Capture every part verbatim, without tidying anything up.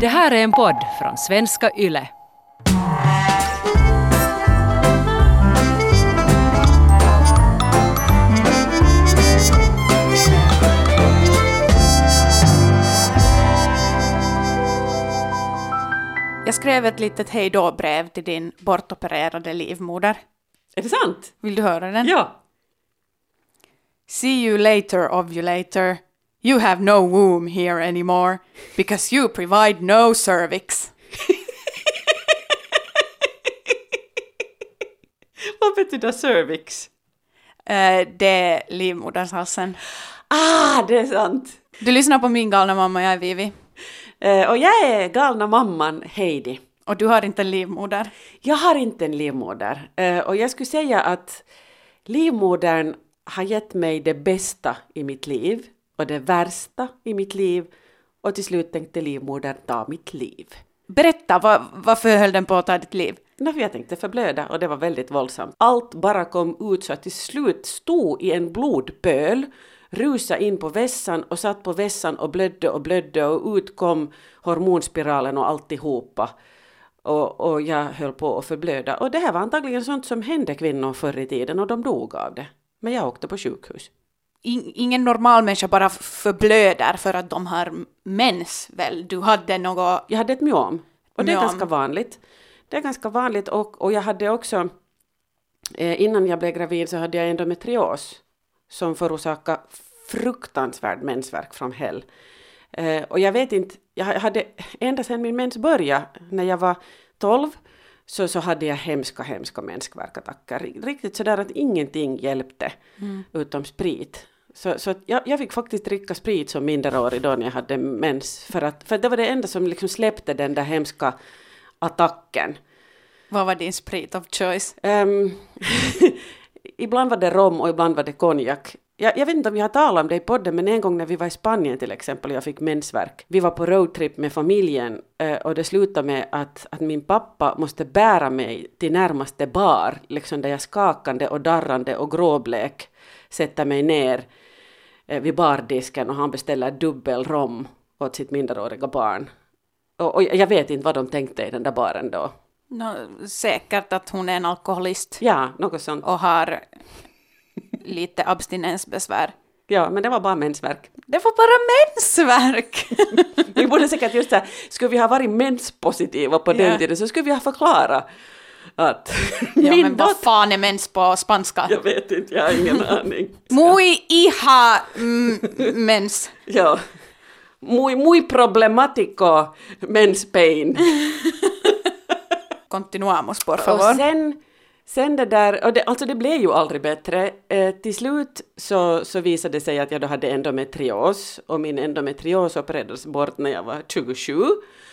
Det här är en podd från Svenska Yle. Jag skrev ett litet hejdå-brev till din bortopererade livmoder. Är det sant? Vill du höra den? Ja. See you later, ovulator. You have no womb here anymore because you provide no cervix. Vad betyder cervix? Uh, det är livmodershalsen. Ah, det är sant. Du lyssnar på min galna mamma, jag är Vivi. Uh, och jag är galna mamman Heidi. Och du har inte en livmoder? Jag har inte en livmoder. Uh, och jag skulle säga att livmodern har gett mig det bästa i mitt liv. Och det värsta i mitt liv. Och till slut tänkte livmodern ta mitt liv. Berätta, var, varför höll den på att ta ditt liv? När jag tänkte förblöda och det var väldigt våldsamt. Allt bara kom ut så att till slut stod i en blodpöl. Rusa in på vässan och satt på vässan och blödde och blödde och ut kom hormonspiralen och alltihopa. Och, och jag höll på att förblöda. Och det här var antagligen sånt som hände kvinnor förr i tiden och de dog av det. Men jag åkte på sjukhus. Ingen normal människa bara förblöder för att de har mens, väl? Du hade något... Jag hade ett myom. Och det är myom. ganska vanligt. Det är ganska vanligt och, och jag hade också, eh, innan jag blev gravid så hade jag endometrios som förorsakade fruktansvärd mensvärk från hell. Eh, och jag vet inte, jag hade ända sedan min mens började, när jag var tolv, så, så hade jag hemska, hemska mensvärkattacker. Riktigt sådär att ingenting hjälpte mm. utom sprit. Så, så jag, jag fick faktiskt dricka sprit som minderårig då när jag hade mens. För, att, för det var det enda som liksom släppte den där hemska attacken. Vad var din sprit of choice? Um, ibland var det rom och ibland var det konjak. Jag, jag vet inte om jag har talat om det i podden, men en gång när vi var i Spanien till exempel och jag fick mensvärk. Vi var på roadtrip med familjen uh, och det slutade med att, att min pappa måste bära mig till närmaste bar. Liksom där jag skakande och darrande och gråblek sätter mig ner uh, vid bardisken och han beställer dubbel rom åt sitt minderåriga barn. Och, och jag vet inte vad de tänkte i den där baren då. No, säkert att hon är en alkoholist. Ja, något sånt. Och har lite abstinensbesvär. Ja, men det var bara mensvärk. Det var bara mensvärk! Vi borde säkert just säga, skulle vi ha varit menspositiva på den ja. tiden så skulle vi ha förklarat att... Ja, men vad fan är mens på spanska? Jag vet inte, jag har ingen aning. Muy hija mm, mens. Ja. Muy, muy problematico mens pain. Continuamos, por favor. Och sen, sen det där, och det, alltså det blev ju aldrig bättre. Eh, till slut så, så visade det sig att jag då hade endometrios. Och min endometrios opererades bort när jag var tjugosju.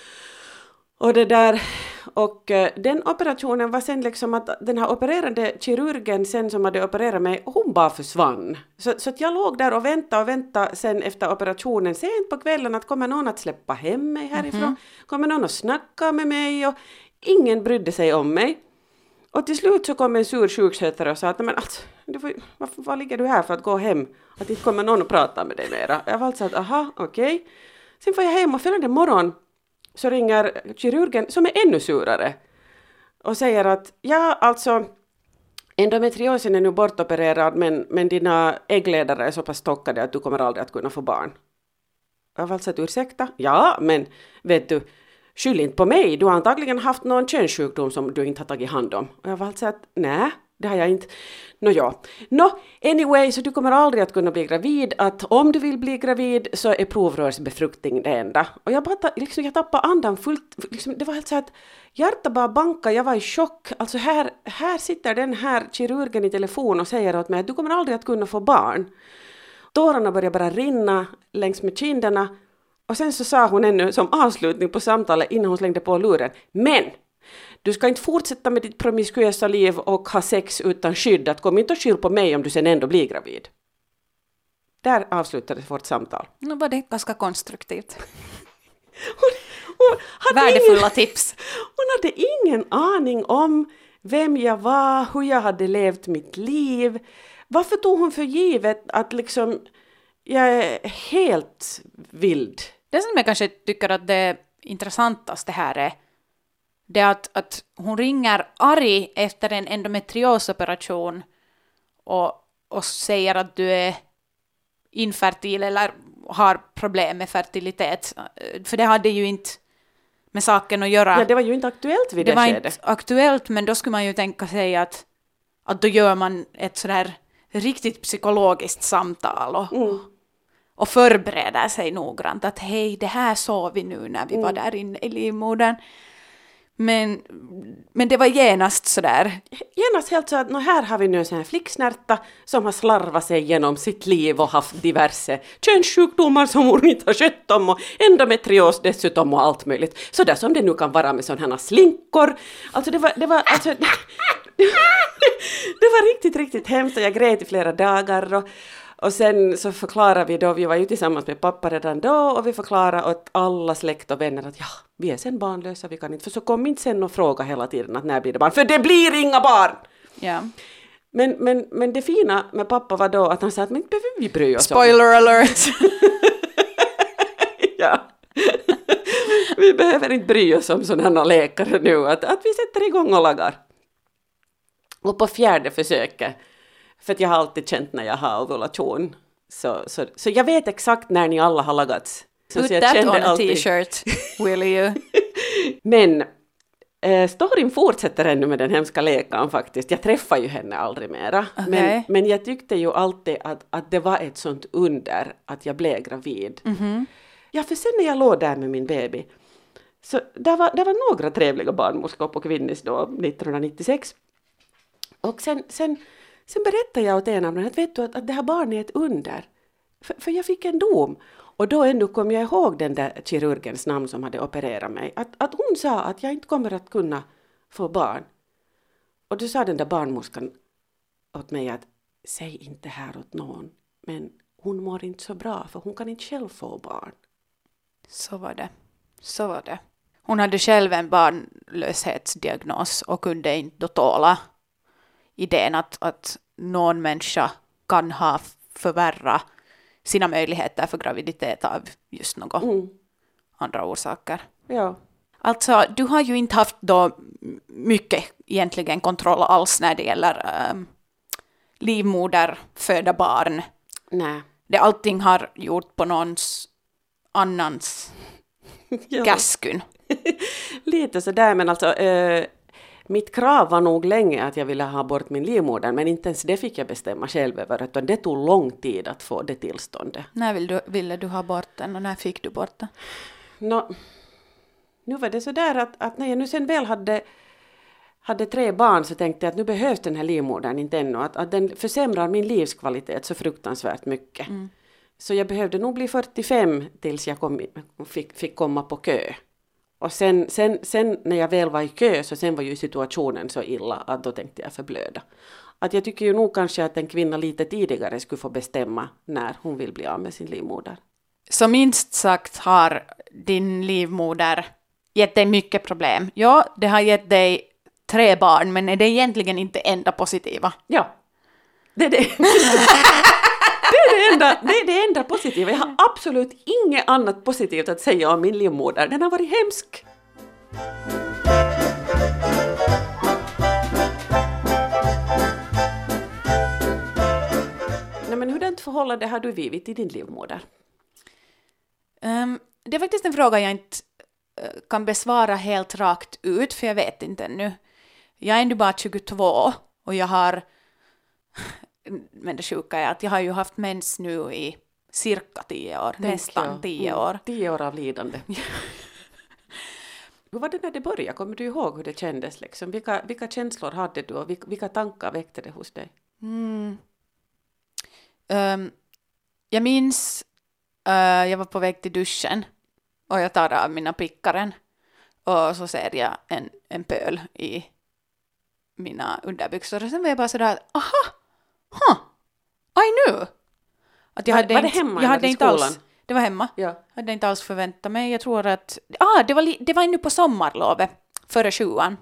Och det där, och eh, den operationen var sen liksom att den här opererande kirurgen sen som hade opererat mig, hon bara försvann. Så, så att jag låg där och väntade och väntade sen efter operationen sent på kvällen att kommer någon att släppa hem mig härifrån? Mm-hmm. Kommer någon att snacka med mig? Och ingen brydde sig om mig. Och till slut så kom en sur sjukskötare och sa att men alltså, du får, varför, var ligger du här för att gå hem? Att inte kommer någon att prata med dig mera. Jag var alltså att aha, okej. Okay. Sen får jag hem och följande morgon så ringer kirurgen som är ännu surare och säger att ja, alltså endometriosen är nu bortopererad men, men dina äggledare är så pass stockade att du kommer aldrig att kunna få barn. Jag var alltså att ursäkta? Ja, men vet du, skyll inte på mig. Du har antagligen haft någon könssjukdom som du inte har tagit hand om. Och jag var alltså att nej, det har jag inte. Nå ja. Nå, anyway, så du kommer aldrig att kunna bli gravid. Att om du vill bli gravid så är provrörsbefruktning det enda. Och jag bara, liksom, jag tappade andan fullt. Liksom, det var helt så att hjärtat bara bankade. Jag var i chock. Alltså här, här sitter den här kirurgen i telefon och säger åt mig att du kommer aldrig att kunna få barn. Tårarna började bara rinna längs med kinderna. Och sen så sa hon ännu som avslutning på samtalet innan hon slängde på luren. Men du ska inte fortsätta med ditt promiskuösa liv och ha sex utan skydd. Att kom inte och skyll på mig om du sen ändå blir gravid. Där avslutades vårt samtal. Nu var det ganska konstruktivt. hon, hon hade Värdefulla ingen, tips. Hon hade ingen aning om vem jag var, hur jag hade levt mitt liv. Varför tog hon för givet att liksom jag är helt vild? Det som jag kanske tycker att det intressantaste här är det att, att hon ringer arg efter en endometriosoperation och, och säger att du är infertil eller har problem med fertilitet. För det hade ju inte med saken att göra. Ja, det var ju inte aktuellt vid det, det var skedet. inte aktuellt, men då skulle man ju tänka sig att, att då gör man ett sådär riktigt psykologiskt samtal och, Mm. och förbereder sig noggrant. Att hej, det här såg vi nu när vi Mm. var där inne i livmodern. Men, men det var genast sådär. Genast helt så att nå här har vi nu en sån här flicksnärta som har slarvat sig genom sitt liv och haft diverse könssjukdomar som hon inte har skött om och endometrios dessutom och allt möjligt. Så där som det nu kan vara med sådana här slinkor. Alltså det var, det var, alltså, det, det var riktigt, riktigt hemskt och jag grät i flera dagar och Och sen så förklarar vi då, vi var ju tillsammans med pappa redan då och vi förklarar åt alla släkt och vänner att ja, vi är sen barnlösa, vi kan inte. För så kom inte sen och fråga hela tiden att när blir det barn, för det blir inga barn! Ja. Men, men, men det fina med pappa var då att han sa att men inte behöver vi bry oss om. Spoiler alert! Ja. Vi behöver inte bry oss om sådana läkare nu, att, att vi sätter igång och lagar. Och på fjärde försöket, för att jag har alltid känt när jag har ovulation. Så, så, så jag vet exakt när ni alla har lagats. Så, Put så jag that kände on a alltid. t-shirt, will you? Men eh, storyn fortsätter ännu med den hemska läkaren faktiskt. Jag träffar ju henne aldrig mera. Okay. Men, men jag tyckte ju alltid att, att det var ett sånt under att jag blev gravid. Mm-hmm. Ja, för sen när jag låg där med min baby. Så där var, där var några trevliga barnmorskor på Kvinnis då, nittonhundranittiosex. Och sen... sen Sen berättade jag åt en av dem att, vet du, att, att det här barnet är ett under. För, för jag fick en dom. Och då ändå kom jag ihåg den där kirurgens namn som hade opererat mig. Att, att hon sa att jag inte kommer att kunna få barn. Och då sa den där barnmorskan åt mig att säg inte här åt någon. Men hon mår inte så bra för hon kan inte själv få barn. Så var det. Så var det. Hon hade själv en barnlöshetsdiagnos och kunde inte då tåla idén att, att någon människa kan ha förvärra sina möjligheter för graviditet av just något Mm. andra orsaker. Ja. Alltså, du har ju inte haft då mycket egentligen kontroll alls när det gäller ähm, livmoder, föda barn. Nej. Det allting har gjort på någons annans Ja. käskyn. Lite sådär, men alltså... Eh, mitt krav var nog länge att jag ville ha bort min livmoder, men inte ens det fick jag bestämma själv över, utan det tog lång tid att få det tillståndet. När vill du, ville du ha bort den och när fick du bort den? Nå, nu var det sådär att, att när jag nu sen väl hade, hade tre barn så tänkte jag att nu behövs den här livmodern inte ännu, att, att den försämrar min livskvalitet så fruktansvärt mycket. Mm. Så jag behövde nog bli fyrtiofem tills jag kom, fick, fick komma på kö. Och sen, sen, sen när jag väl var i kö så sen var ju situationen så illa att då tänkte jag förblöda. Att jag tycker ju nog kanske att en kvinna lite tidigare skulle få bestämma när hon vill bli av med sin livmoder. Så minst sagt har din livmoder gett dig mycket problem. Ja, det har gett dig tre barn, men är det egentligen inte enda positiva? Ja, det är det. Det är det, enda, det är det enda positiva. Jag har absolut inget annat positivt att säga om min livmoder. Den har varit hemsk. Nej, men hurdant förhållande har du vivit i din livmoder? Um, det är faktiskt en fråga jag inte uh, kan besvara helt rakt ut, för jag vet inte ännu. Jag är ändå bara tjugotvå och jag har... Men det sjuka är att jag har ju haft mens nu i cirka tio år, Tänk nästan jag. tio år. Mm, tio år av lidande. Hur var det när det började? Kommer du ihåg hur det kändes? Liksom? Vilka, vilka känslor hade du och vilka, vilka tankar väckte det hos dig? Mm. Um, jag minns, uh, jag var på väg till duschen och jag tar av mina pickaren och så ser jag en, en pöl i mina underbyxor och sen var jag bara sådär, aha! Huh, I knew. Att jag var, hade var det inte, hemma jag hade eller i inte skolan? alls, det var hemma. Ja. Jag hade inte alls förväntat mig. Jag tror att... Ah, det var, li, det var ännu på sommarlovet, före sjuan.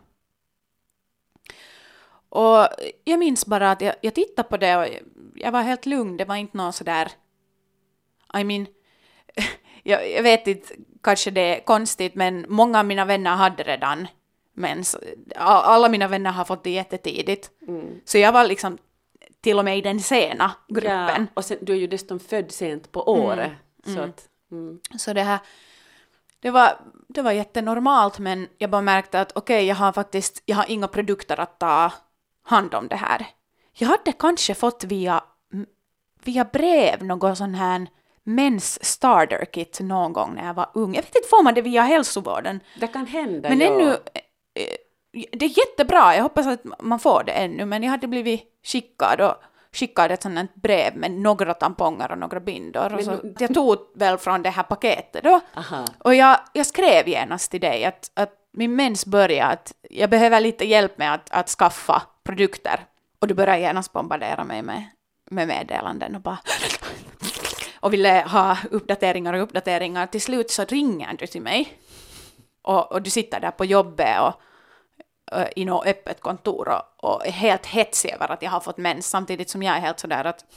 Och jag minns bara att jag, jag tittade på det och jag var helt lugn. Det var inte någon sådär... I mean... jag, jag vet inte, kanske det är konstigt, men många av mina vänner hade redan mens. Alla mina vänner har fått det jättetidigt. Mm. Så jag var liksom till och med i den sena gruppen. Ja, och sen, du är ju dessutom född sent på året. Mm. Så, Mm. att, mm. så det här, det var, det var jättenormalt, men jag bara märkte att okej, okay, jag har faktiskt, jag har inga produkter att ta hand om det här. Jag hade kanske fått via, via brev någon sån här mens starter kit någon gång när jag var ung. Jag vet inte, får man det via hälsovården? Det kan hända, men ja. ännu, det är jättebra, jag hoppas att man får det ännu, men jag hade blivit skickad och skickade ett sånt brev med några tamponger och några bindor. Och så, du... jag tog väl från det här paketet då. Aha. Och jag, jag skrev genast till dig att, att min mens börjar, att jag behöver lite hjälp med att, att skaffa produkter. Och du började genast bombardera mig med, med meddelanden och bara... och ville ha uppdateringar och uppdateringar. Till slut så ringer du till mig. Och, och du sitter där på jobbet och i något öppet kontor och, och är helt hetsig över att jag har fått mens, samtidigt som jag är helt sådär att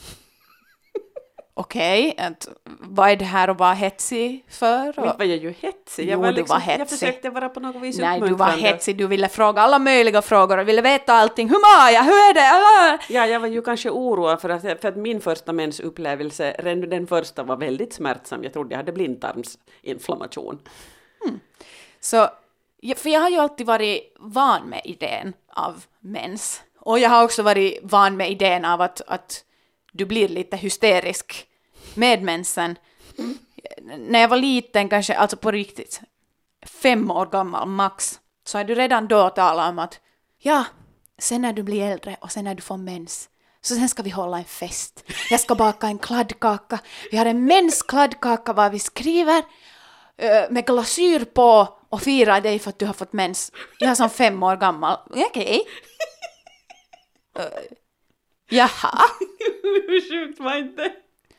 okej, okay, vad är det här att vara hetsig för? Och, var jag ju hetsig. Jag, jo, var liksom, du var hetsig. Jag försökte vara på något vis Nej, du var hetsig. Du ville fråga alla möjliga frågor och ville veta allting. Hur mår jag? Hur är det? Ja, jag var ju kanske oroad för att, för att min första mensupplevelse, redan den första var väldigt smärtsam. Jag trodde jag hade blindtarmsinflammation. Hmm. Så för jag har ju alltid varit van med idén av mens. Och jag har också varit van med idén av att, att du blir lite hysterisk med mensen. Mm. När jag var liten, kanske alltså på riktigt, fem år gammal max, så har du redan då talat om att ja, sen när du blir äldre och sen när du får mens, så sen ska vi hålla en fest. Jag ska baka en kladdkaka. Vi har en menskladdkaka var vi skriver med glasyr på och fira dig för att du har fått mens. Jag är som fem år gammal. Okej. Okay. Uh, jaha. Hur sjukt var inte?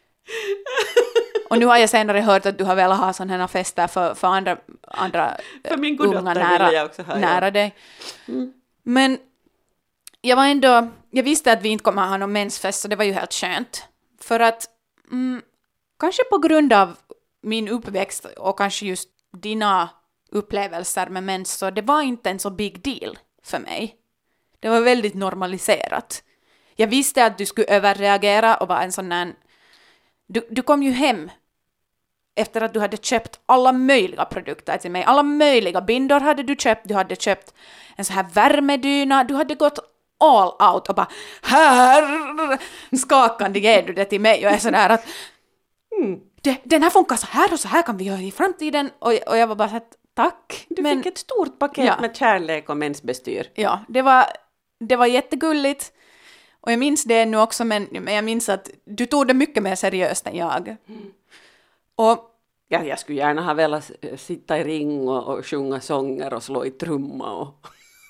Och nu har jag senare hört att du har velat ha sådana här fester för, för andra, andra för min unga nära, jag också ha, nära ja. dig. Mm. Men jag var ändå, jag visste att vi inte kommer ha någon mensfest, så det var ju helt skönt. För att mm, kanske på grund av min uppväxt och kanske just dina upplevelser med mens, så det var inte en så big deal för mig. Det var väldigt normaliserat. Jag visste att du skulle överreagera och vara en sån där... Du, du kom ju hem efter att du hade köpt alla möjliga produkter till mig. Alla möjliga bindor hade du köpt. Du hade köpt en sån här värmedyna. Du hade gått all out och bara här skakande ger du det till mig. Och jag är sådär att mm, det, den här funkar så här och så här kan vi göra i framtiden. Och, och jag var bara så att tack. Du men, fick ett stort paket ja. med kärlek och mensbestyr. Ja, det var, det var jättegulligt. Och jag minns det nu också, men, men jag minns att du tog det mycket mer seriöst än jag. Mm. Och ja, jag skulle gärna ha velat sitta i ring och, och sjunga sånger och slå i trumma. Och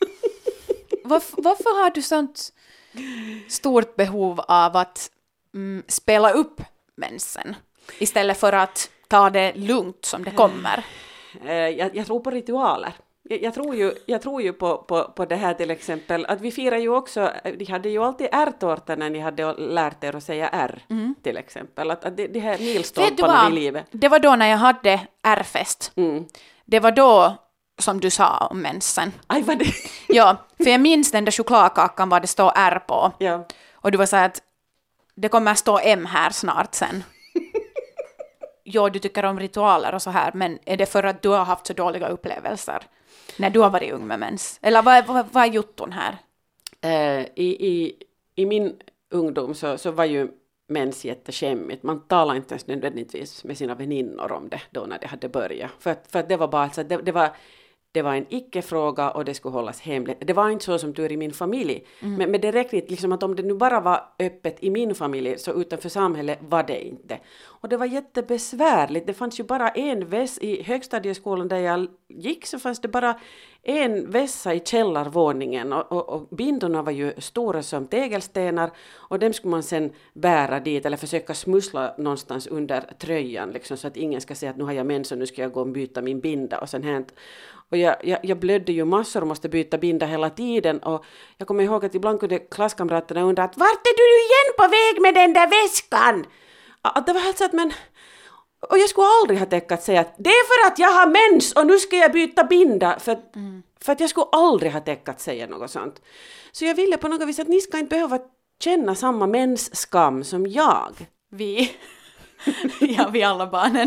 varför, varför har du sånt stort behov av att mm, spela upp mensen istället för att ta det lugnt som det kommer? Jag, jag tror på ritualer. Jag, jag, tror ju, jag tror ju på, på, på det här till exempel, att vi firar ju också, de hade ju alltid R-tårta när ni hade lärt er att säga R mm. till exempel. Att, att det, det här milstolparna i livet. Det var då när jag hade R-fest. Mm. Det var då som du sa om mensen. Aj, vad det? Ja, för jag minns den där chokladkakan vad det står R på. Ja. Och du var så här att det kommer stå M här snart sen. Ja, du tycker om ritualer och så här, men är det för att du har haft så dåliga upplevelser när du har varit ung med mens? Eller vad, vad, vad är jutton här? Uh, i, i, I min ungdom så, så var ju mens jätteskämmigt. Man talade inte ens nödvändigtvis med sina väninnor om det då när det hade börjat. För att, för att det var bara alltså, det, det var det var en icke-fråga och det skulle hållas hemligt. Det var inte så som tur i min familj. Mm. Men, men det räckte liksom att om det nu bara var öppet i min familj så utanför samhället var det inte. Och det var jättebesvärligt. Det fanns ju bara en väss i högstadieskolan där jag gick, så fanns det bara en vässa i källarvåningen och, och, och bindorna var ju stora som tegelstenar och dem skulle man sen bära dit eller försöka smussla någonstans under tröjan liksom, så att ingen ska säga att nu har jag mens och nu ska jag gå och byta min binda och sen hänt. Och jag, jag, jag blödde ju massor och måste byta binda hela tiden och jag kommer ihåg att ibland kunde klasskamraterna undra att vart är du igen på väg med den där väskan? Att det var helt så att men Och jag skulle aldrig ha tänkt att säga att det är för att jag har mens och nu ska jag byta binda. För att, mm. för att jag skulle aldrig ha tänkt att säga något sånt. Så jag ville på något vis att ni ska inte behöva känna samma mensskam som jag. Vi, ja vi alla barnen.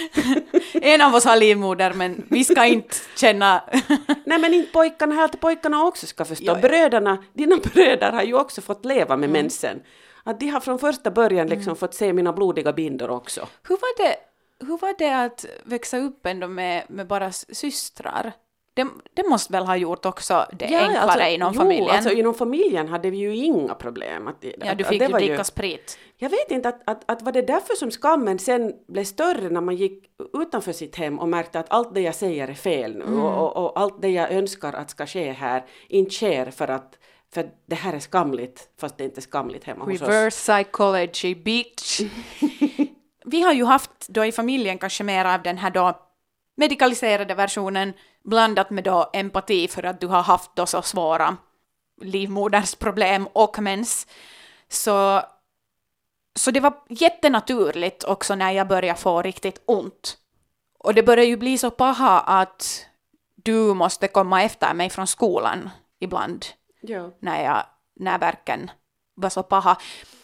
En av oss har livmoder men vi ska inte känna... Nej men inte pojkarna, helt pojkarna också ska förstå. Jo, Bröderna, dina bröder har ju också fått leva med mm. mensen. Att de har från första början liksom mm. fått se mina blodiga bindor också. Hur var det, hur var det att växa upp ändå med, med bara systrar? Det, det måste väl ha gjort också det ja, enklare alltså, inom jo, familjen? Alltså inom familjen hade vi ju inga problem. Att, ja, att, du fick att ju dricka ju, sprit. Jag vet inte, att, att, att var det därför som skammen sen blev större när man gick utanför sitt hem och märkte att allt det jag säger är fel nu mm. och, och, och allt det jag önskar att ska ske här inte sker för att för det här är skamligt fast det är inte skamligt hemma hos oss. Reverse psychology, bitch. Vi har ju haft då i familjen kanske mer av den här då medikaliserade versionen blandat med då empati för att du har haft då så svåra livmodersproblem och mens. Så, så det var jättenaturligt också när jag började få riktigt ont. Och det började ju bli så paha att du måste komma efter mig från skolan ibland. Ja. När, jag, när verken var så paha.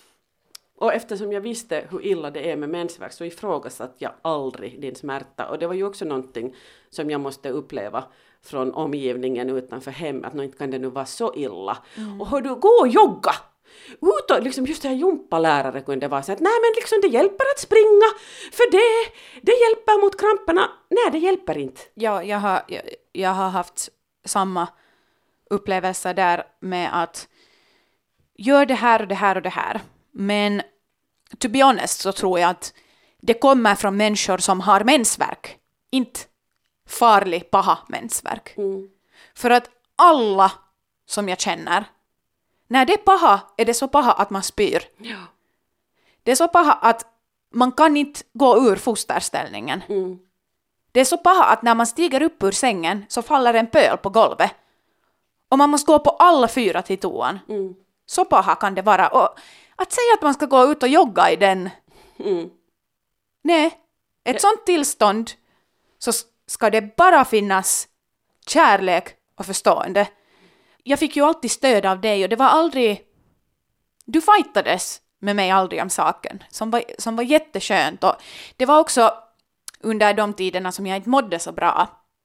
Och eftersom jag visste hur illa det är med mensvärk så ifrågasatte jag aldrig din smärta. Och det var ju också någonting som jag måste uppleva från omgivningen utanför hemmet. Att inte kan det nu vara så illa. Mm. Och hör du, gå och jogga! Ut och liksom just det här jumpalärare kunde vara så att nej men liksom det hjälper att springa. För det, det hjälper mot kramperna. Nej, det hjälper inte. Ja, jag har, jag, jag har haft samma upplevelse där med att gör det här och det här och det här. Men to be honest så tror jag att det kommer från människor som har mensvärk. Inte farlig, paha mensvärk. Mm. För att alla som jag känner, när det är paha är det så paha att man spyr. Ja. Det är så paha att man kan inte gå ur fosterställningen. Mm. Det är så paha att när man stiger upp ur sängen så faller en pöl på golvet. Och man måste gå på alla fyra till toan. Mm. Så paha kan det vara. Och att säga att man ska gå ut och jogga i den. Mm. Nej, ett ja. sånt tillstånd så ska det bara finnas kärlek och förstående. Jag fick ju alltid stöd av dig och det var aldrig... Du fightades med mig aldrig om saken. Som var, som var jätteskönt. Och det var också under de tiderna som jag inte mådde så bra.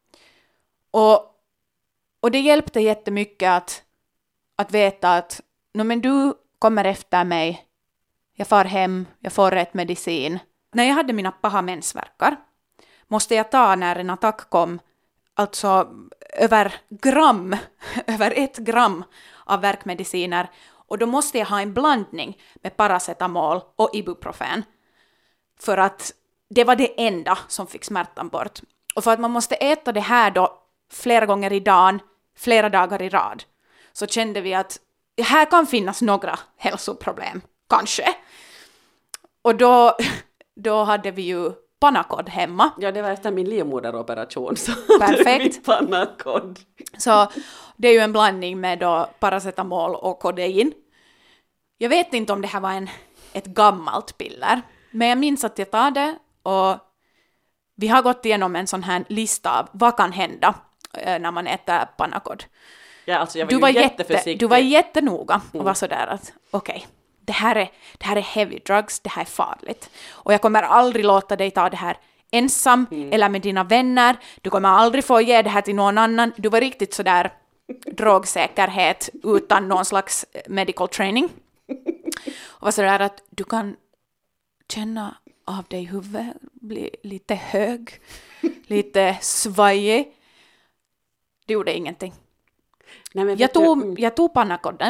Och, och det hjälpte jättemycket att, att veta att no, men du kommer efter mig. Jag far hem, jag får rätt medicin. När jag hade mina paha mensvärkar måste jag ta när en attack kom alltså över gram, över ett gram av värkmediciner. Och då måste jag ha en blandning med paracetamol och ibuprofen. För att det var det enda som fick smärtan bort. Och för att man måste äta det här då flera gånger i dagen, flera dagar i rad. Så kände vi att här kan finnas några hälsoproblem, kanske. Och då, då hade vi ju Panacod hemma. Ja, det var efter min livmoderoperation. Så perfekt. Panacod. Så det är ju en blandning med då paracetamol och kodein. Jag vet inte om det här var en, ett gammalt piller. Men jag minns att jag tar det och vi har gått igenom en sån här lista av vad kan hända när man äter Panacod. Ja, alltså jag var du, var jätte, du var jättenoga och var sådär att okej, okay, det, här är, det här är heavy drugs, det här är farligt. Och jag kommer aldrig låta dig ta det här ensam mm. eller med dina vänner. Du kommer aldrig få ge det här till någon annan. Du var riktigt sådär drogsäkerhet utan någon slags medical training. Och var sådär att du kan känna av dig huvudet, bli lite hög, lite svajig. Det gjorde ingenting. Nej, men jag, tog, mm. jag tog Panacoden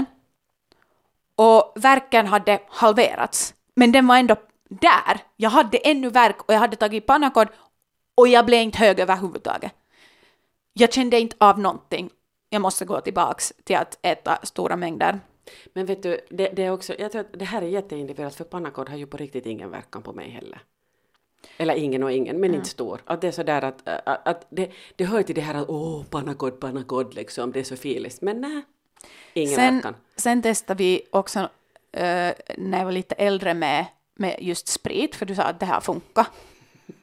och värken hade halverats. Men den var ändå där. Jag hade ännu värk och jag hade tagit Panacod och jag blev inte hög överhuvudtaget. Jag kände inte av någonting. Jag måste gå tillbaks till att äta stora mängder. Men vet du, det, det är också, jag tror att det här är jätteindividuellt för Panacod har ju på riktigt ingen verkan på mig heller. Eller ingen och ingen, men mm. inte stor. Att det är sådär att, att, att det, det hör till det här att åh, Panacod, Panacod liksom, det är så filigt. Men nej, ingen sen, verkan. Sen testade vi också uh, när jag var lite äldre med, med just sprit, för du sa att det här funkar.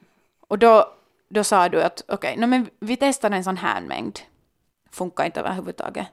Och då, då sa du att okej, okay, no, men vi testar en sån här mängd. Funkar inte överhuvudtaget.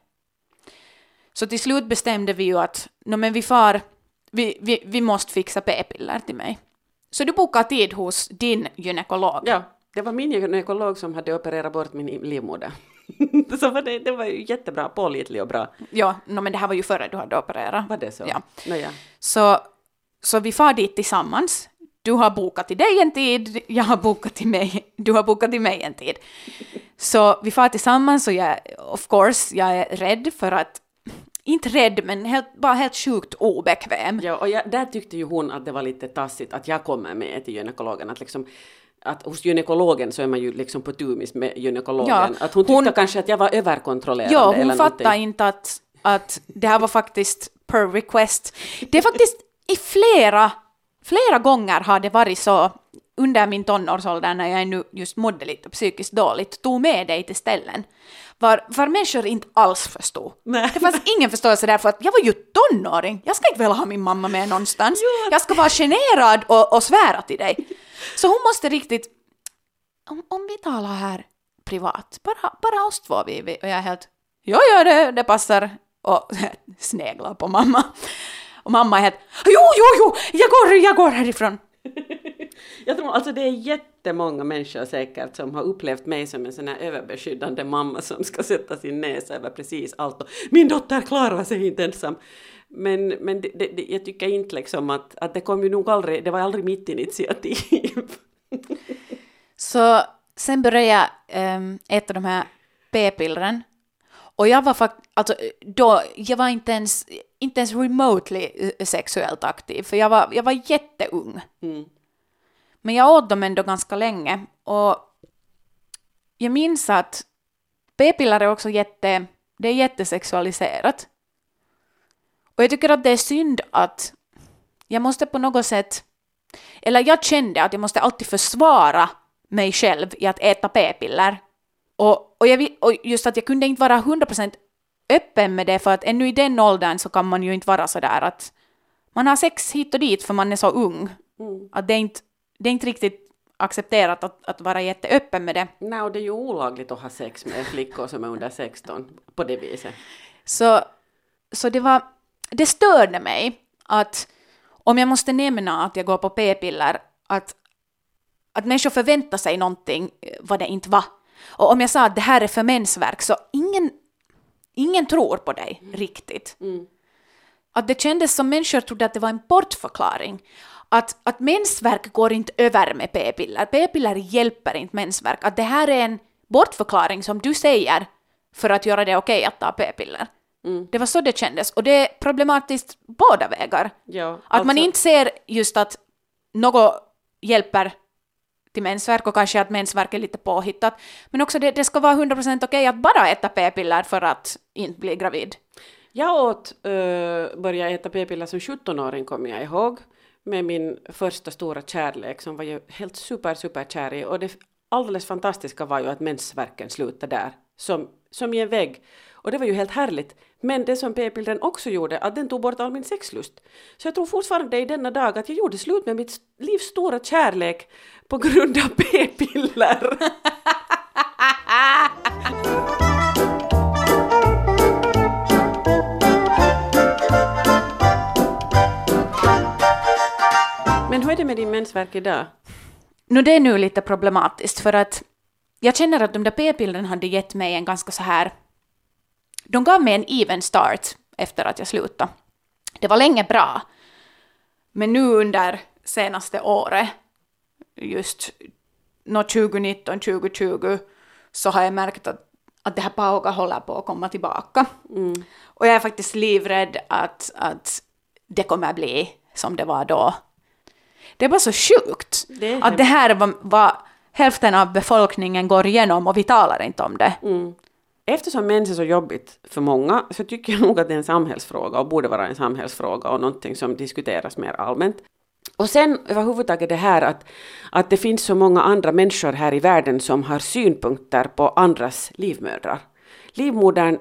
Så till slut bestämde vi ju att no, men vi, far, vi, vi, vi måste fixa p-piller till mig. Så du bokade tid hos din gynekolog. Ja, det var min gynekolog som hade opererat bort min livmoder. Så var det, det var ju jättebra, pålitlig och bra. Ja, no, men det här var ju före du hade opererat. Var det så? Ja. No, ja. Så, så vi far dit tillsammans. Du har bokat till dig en tid, jag har bokat till mig, du har bokat till mig en tid. Så vi far tillsammans och jag, of course, jag är rädd för att, inte rädd men helt, bara helt sjukt obekväm. Ja, och jag, där tyckte ju hon att det var lite tassigt att jag kommer med till gynekologen. Att, liksom, att hos gynekologen så är man ju liksom på tumis med gynekologen. Ja, att hon tyckte hon, kanske att jag var överkontrollerande. Ja, hon eller fattade inte att, att det här var faktiskt per request. Det är faktiskt i flera, flera gånger har det varit så under min tonårsålder när jag nu just mådde lite psykiskt dåligt, tog med dig till ställen. Var, var människor inte alls förstod. Nej. Det fanns ingen förståelse där för att jag var ju tonåring. Jag ska inte väl ha min mamma med någonstans. Jo. Jag ska vara generad och, och svära till dig. Så hon måste riktigt, om, om vi talar här privat, bara, bara oss två vi, vi, och jag är helt, ja ja det, det passar, och sneglar på mamma. Och mamma är helt, jo jo jo, jag går, jag går härifrån. Jag tror alltså det är jättemånga människor säkert som har upplevt mig som en sån här överbeskyddande mamma som ska sätta sin näsa över precis allt. Och min dotter klarar sig inte ensam. Men, men det, det, jag tycker inte liksom att, att det kom ju nog aldrig, det var aldrig mitt initiativ. Så sen började jag ähm, äta de här p-pillren. Och jag var faktiskt, alltså då, jag var inte ens, inte ens remotely sexuellt aktiv. För jag var, jag var jätteung. Mm. Men jag åt dem ändå ganska länge. Och jag minns att p-piller är också jätte, det är jättesexualiserat. Och jag tycker att det är synd att jag måste på något sätt, eller jag kände att jag måste alltid försvara mig själv i att äta p-piller. Och, och, jag, och just att jag kunde inte vara hundra procent öppen med det, för att ännu i den åldern så kan man ju inte vara så där att man har sex hit och dit för man är så ung. Mm. Att det är inte, det är inte riktigt accepterat att, att vara jätteöppen med det. Nej, och det är ju olagligt att ha sex med flickor som är under sexton på det viset. Så, så det var, det störde mig att om jag måste nämna att jag går på p-piller, att, att människor förväntar sig någonting vad det inte var. Och om jag sa att det här är för mensvärk, så ingen, ingen tror på dig mm. riktigt. Mm. Att det kändes som människor trodde att det var en bortförklaring. Att, att mensvärk går inte över med p-piller. P-piller hjälper inte mensvärk. Att det här är en bortförklaring som du säger för att göra det okej att ta p-piller. Mm. Det var så det kändes. Och det är problematiskt båda vägar. Ja, att alltså... man inte ser just att något hjälper till mensvärk och kanske att mensvärk är lite påhittat. Men också det, det ska vara hundra procent okej att bara äta p-piller för att inte bli gravid. Jag åt, uh, började äta p-piller som sjuttonåring, kommer jag ihåg. Med min första stora kärlek som var ju helt super, super kär i. Och det alldeles fantastiska var ju att mensvärken slutade där. Som, som i en vägg. Och det var ju helt härligt. Men det som p-pillren också gjorde, att den tog bort all min sexlust. Så jag tror fortfarande i denna dag att jag gjorde slut med mitt livs stora kärlek på grund av p-piller. Men hur är det med din mensvärk idag? No, det är nu lite problematiskt för att jag känner att de där p-pillren hade gett mig en ganska så här... De gav mig en even start efter att jag slutade. Det var länge bra. Men nu under senaste året, just tjugonitton tjugo tjugo, så har jag märkt att, att det här pauga håller på att komma tillbaka. Mm. Och jag är faktiskt livrädd att, att det kommer bli som det var då. Det är bara så sjukt det att det här var, var hälften av befolkningen går igenom och vi talar inte om det. Mm. Eftersom mens är så jobbigt för många så tycker jag nog att det är en samhällsfråga och borde vara en samhällsfråga och någonting som diskuteras mer allmänt. Och sen överhuvudtaget det här att, att det finns så många andra människor här i världen som har synpunkter på andras livmödrar. Livmodern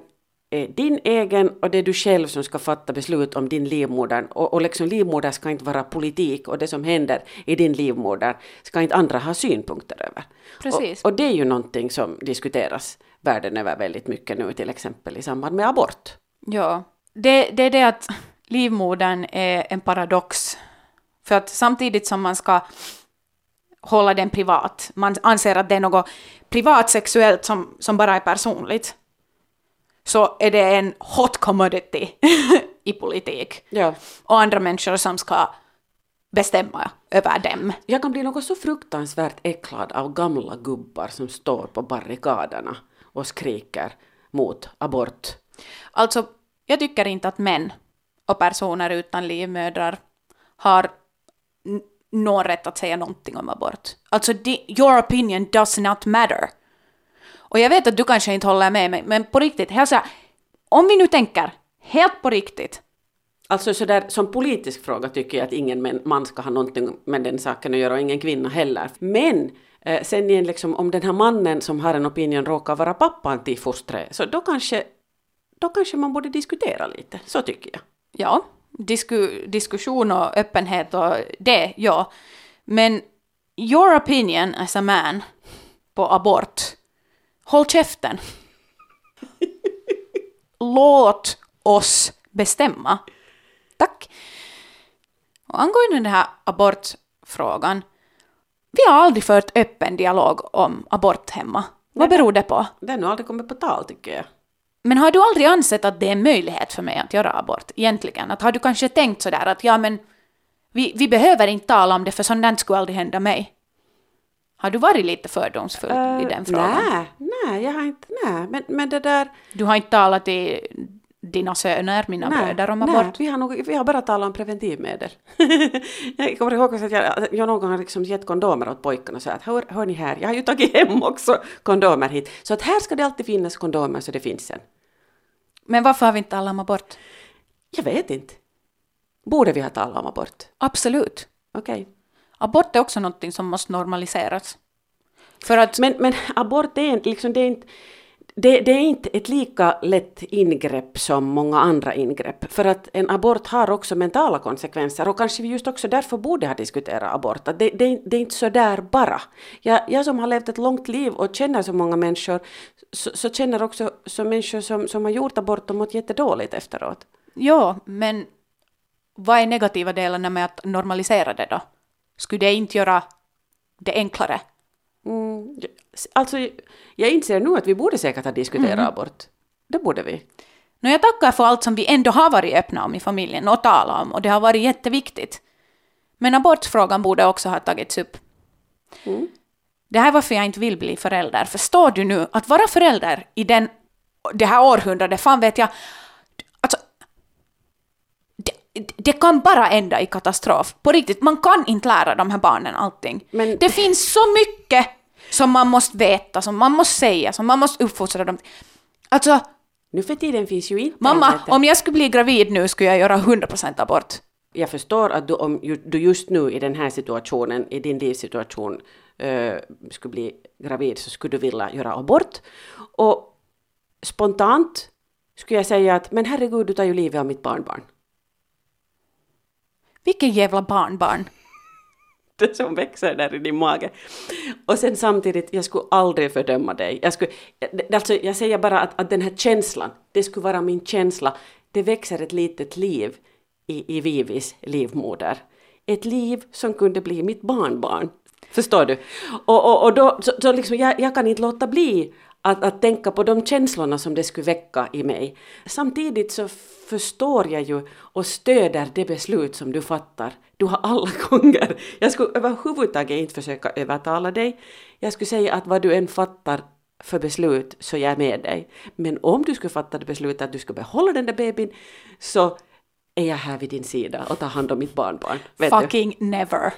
är din egen och det är du själv som ska fatta beslut om din livmoder. Och, och liksom livmoder ska inte vara politik och det som händer i din livmoder ska inte andra ha synpunkter över. Precis. Och, och det är ju någonting som diskuteras världen över väldigt mycket nu, till exempel i samband med abort. Ja, det, det är det att livmodern är en paradox. För att samtidigt som man ska hålla den privat, man anser att det är något privat sexuellt som, som bara är personligt, så är det en hot commodity i politik. Ja. Och andra människor som ska bestämma över dem. Jag kan bli något så fruktansvärt äcklad av gamla gubbar som står på barrikaderna och skriker mot abort. Alltså, jag tycker inte att män och personer utan livmödrar har n- någon rätt att säga någonting om abort. Alltså, di- your opinion does not matter. Och jag vet att du kanske inte håller med mig, men på riktigt, hälsa, om vi nu tänker helt på riktigt. Alltså så där, som politisk fråga tycker jag att ingen man ska ha någonting med den saken att göra och ingen kvinna heller. Men eh, sen igen, liksom, om den här mannen som har en opinion råkar vara pappan till fostret, så då kanske, då kanske man borde diskutera lite. Så tycker jag. Ja, disku, diskussion och öppenhet och det, ja. Men your opinion as a man på abort, håll käften. Låt oss bestämma. Tack. Och angående den här abortfrågan, vi har aldrig fört öppen dialog om abort hemma. Vad beror det på? Det har nog aldrig kommit på tal, tycker jag. Men har du aldrig ansett att det är en möjlighet för mig att göra abort egentligen? Att har du kanske tänkt sådär att ja, men vi, vi behöver inte tala om det för sånt där skulle aldrig hända mig? Har du varit lite fördomsfull uh, i den frågan? Nej, nej, jag har inte, nej, men, men det där... Du har inte talat till dina söner, mina nej, bröder om abort? Nej, vi har, nog, vi har bara talat om preventivmedel. Jag kommer ihåg att jag, jag någon gång har liksom gett kondomer åt pojkarna och sagt att hör, hör ni här, jag har ju tagit hem också kondomer hit. Så att här ska det alltid finnas kondomer så det finns en. Men varför har vi inte talat om abort? Jag vet inte. Borde vi ha talat om abort? Absolut. Okej. Okay. Abort är också något som måste normaliseras. För att... men, men abort är inte, liksom, det är inte, det, det är inte ett lika lätt ingrepp som många andra ingrepp. För att en abort har också mentala konsekvenser och kanske vi just också därför borde ha diskuterat abort. Att det, det, det är inte så där bara. Jag, jag som har levt ett långt liv och känner så många människor så, så känner också så människor som, som har gjort abort och mått jättedåligt efteråt. Ja, men vad är negativa delarna med att normalisera det då? Skulle det inte göra det enklare? Mm, alltså, jag inser nu att vi borde säkert ha diskuterat mm. abort. Det borde vi. No, jag tackar för allt som vi ändå har varit öppna om i familjen och talat om. Och det har varit jätteviktigt. Men abortfrågan borde också ha tagits upp. Mm. Det här är varför jag inte vill bli förälder. Förstår du nu att vara förälder i den, det här århundradet, fan vet jag... Alltså, det, det kan bara ända i katastrof. På riktigt, man kan inte lära de här barnen allting. Men... Det finns så mycket som man måste veta, som man måste säga, som man måste uppfostra dem. Alltså... Nu för tiden finns ju inte... Mamma, om jag skulle bli gravid nu skulle jag göra hundra procent abort. Jag förstår att du, om du just nu i den här situationen, i din livssituation, uh, skulle bli gravid så skulle du vilja göra abort. Och spontant skulle jag säga att men herregud, du tar ju livet av mitt barnbarn. Vilken jävla barnbarn? Det som växer där i din mage. Och sen samtidigt, jag skulle aldrig fördöma dig. Jag, skulle, alltså, jag säger bara att, att den här känslan, det skulle vara min känsla. Det växer ett litet liv i, i Vivis livmoder. Ett liv som kunde bli mitt barnbarn. Förstår du? Och, och, och då, så, så liksom, jag, jag kan inte låta bli att, att tänka på de känslorna som det skulle väcka i mig. Samtidigt så förstår jag ju och stöder det beslut som du fattar. Du har alla gånger. Jag skulle överhuvudtaget inte försöka övertala dig. Jag skulle säga att vad du än fattar för beslut så jag är med dig. Men om du skulle fatta det beslutet att du ska behålla den där bebin så är jag här vid din sida och tar hand om mitt barnbarn. Vet Fucking du? Never.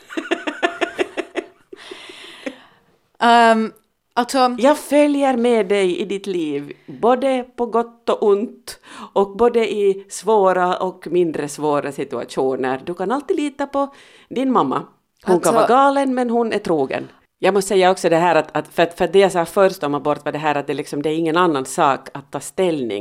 um, alltså... Jag följer med dig i ditt liv, både på gott och ont och både i svåra och mindre svåra situationer. Du kan alltid lita på din mamma. Hon alltså... kan vara galen men hon är trogen. Jag måste säga också det här att, att för, för det jag sa först om abort var det här att det, liksom, det är ingen annan sak att ta ställning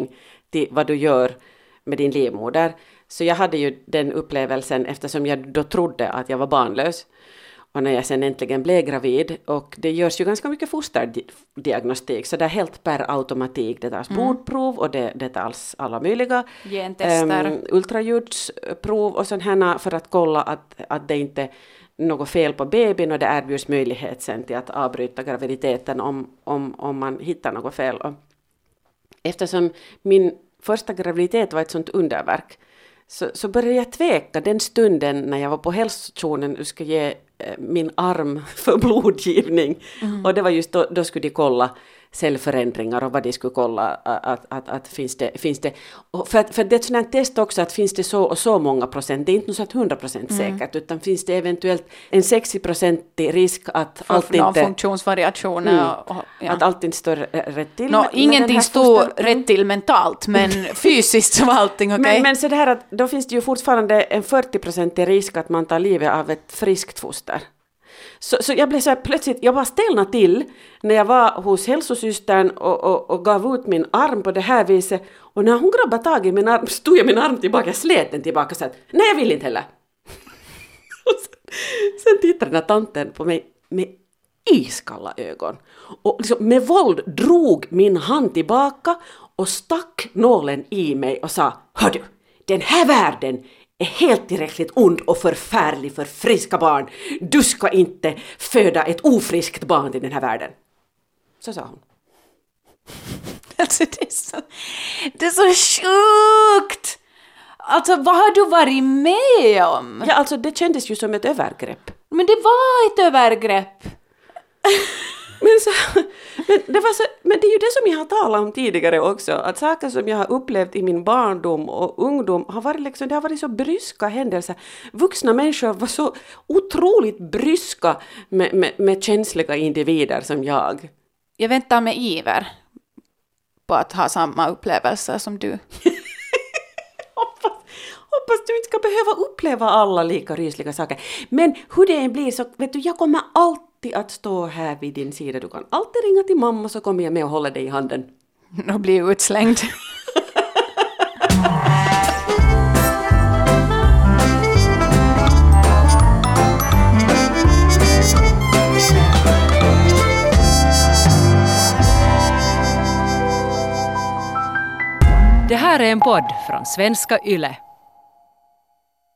till vad du gör med din livmoder. Så jag hade ju den upplevelsen eftersom jag då trodde att jag var barnlös. Och när jag sen äntligen blev gravid, och det görs ju ganska mycket fosterdiagnostik, så det är helt per automatik. Det tas mm. blodprov och det, det tas alla möjliga gentester, um, ultraljudsprov och sådana för att kolla att, att det inte är något fel på bebisen, och det erbjuds möjlighet sen till att avbryta graviditeten om, om, om man hittar något fel. Och eftersom min första graviditet var ett sånt underverk, så, så började jag tveka den stunden när jag var på hälsostationen och skulle ge min arm för blodgivning. Mm. Och det var just då, då skulle de kolla cellförändringar och vad de skulle kolla att, att, att, att finns det, finns det och för, att, för det är ett sådant här test också att finns det så och så många procent, det är inte så att hundra procent säkert mm. utan finns det eventuellt en sextio procentig risk att för allt inte funktionsvariationer mm, och, och, ja. att allt inte står rätt till. No, med, ingenting med står foster... rätt till mentalt, men fysiskt så var allting okej. Okay. Men, men så det här att då finns det ju fortfarande en fyrtio procentig risk att man tar livet av ett friskt foster. Så, så jag blev så här plötsligt, jag var stelna till när jag var hos hälsosystern och, och, och gav ut min arm på det här viset. Och när hon grabbade tag i min arm, stod jag min arm tillbaka, jag slet den tillbaka och sa att nej, jag vill inte heller. Och sen, sen tittade den här tanten på mig med iskalla ögon. Och liksom med våld drog min hand tillbaka och stack nålen i mig och sa, hör du, den här världen är helt tillräckligt ond och förfärlig för friska barn. Du ska inte föda ett ofriskt barn i den här världen. Så sa hon. Alltså det är så, det är så sjukt! Alltså vad har du varit med om? Ja, alltså det kändes ju som ett övergrepp. Men det var ett övergrepp. Men, så, men, det var så, men det är ju det som jag har talat om tidigare också. Att saker som jag har upplevt i min barndom och ungdom har varit, liksom, det har varit så bryska händelser. Vuxna människor var så otroligt bryska med, med, med känsliga individer som jag. Jag väntar med iver på att ha samma upplevelser som du. hoppas, hoppas du inte ska behöva uppleva alla lika rysliga saker. Men hur det än blir så vet du, jag kommer alltid att stå här vid din sida. Du kan alltid ringa till mamma så kommer jag med och hålla dig i handen. Och bli utslängd. Det här är en podd från Svenska Yle.